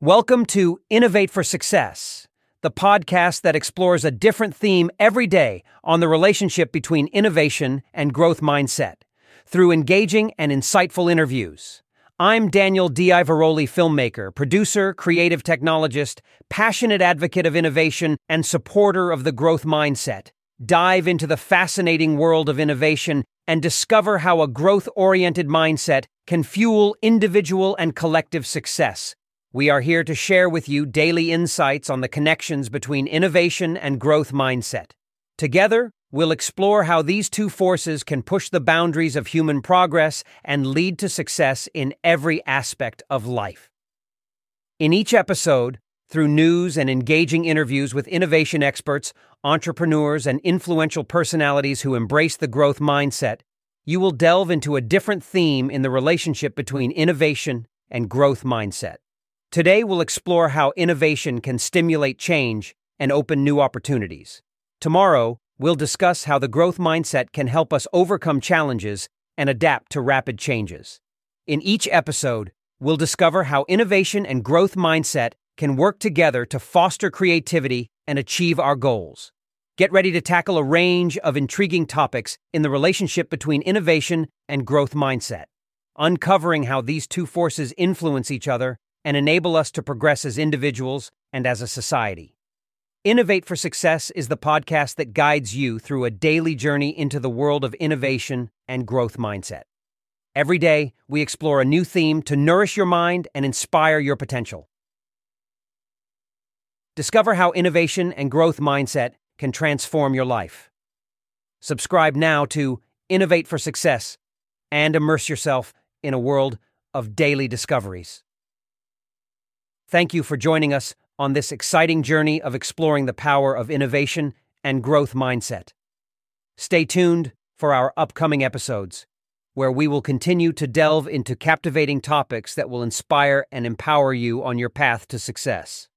Welcome to Innovate for Success, the podcast that explores a different theme every day on the relationship between innovation and growth mindset through engaging and insightful interviews. I'm Daniel D'Ivaroli, filmmaker, producer, creative technologist, passionate advocate of innovation, and supporter of the growth mindset. Dive into the fascinating world of innovation and discover how a growth-oriented mindset can fuel individual and collective success. We are here to share with you daily insights on the connections between innovation and growth mindset. Together, we'll explore how these two forces can push the boundaries of human progress and lead to success in every aspect of life. In each episode, through news and engaging interviews with innovation experts, entrepreneurs, and influential personalities who embrace the growth mindset, you will delve into a different theme in the relationship between innovation and growth mindset. Today, we'll explore how innovation can stimulate change and open new opportunities. Tomorrow, we'll discuss how the growth mindset can help us overcome challenges and adapt to rapid changes. In each episode, we'll discover how innovation and growth mindset can work together to foster creativity and achieve our goals. Get ready to tackle a range of intriguing topics in the relationship between innovation and growth mindset, uncovering how these two forces influence each other and enable us to progress as individuals and as a society. Innovate for Success is the podcast that guides you through a daily journey into the world of innovation and growth mindset. Every day, we explore a new theme to nourish your mind and inspire your potential. Discover how innovation and growth mindset can transform your life. Subscribe now to Innovate for Success and immerse yourself in a world of daily discoveries. Thank you for joining us on this exciting journey of exploring the power of innovation and growth mindset. Stay tuned for our upcoming episodes, where we will continue to delve into captivating topics that will inspire and empower you on your path to success.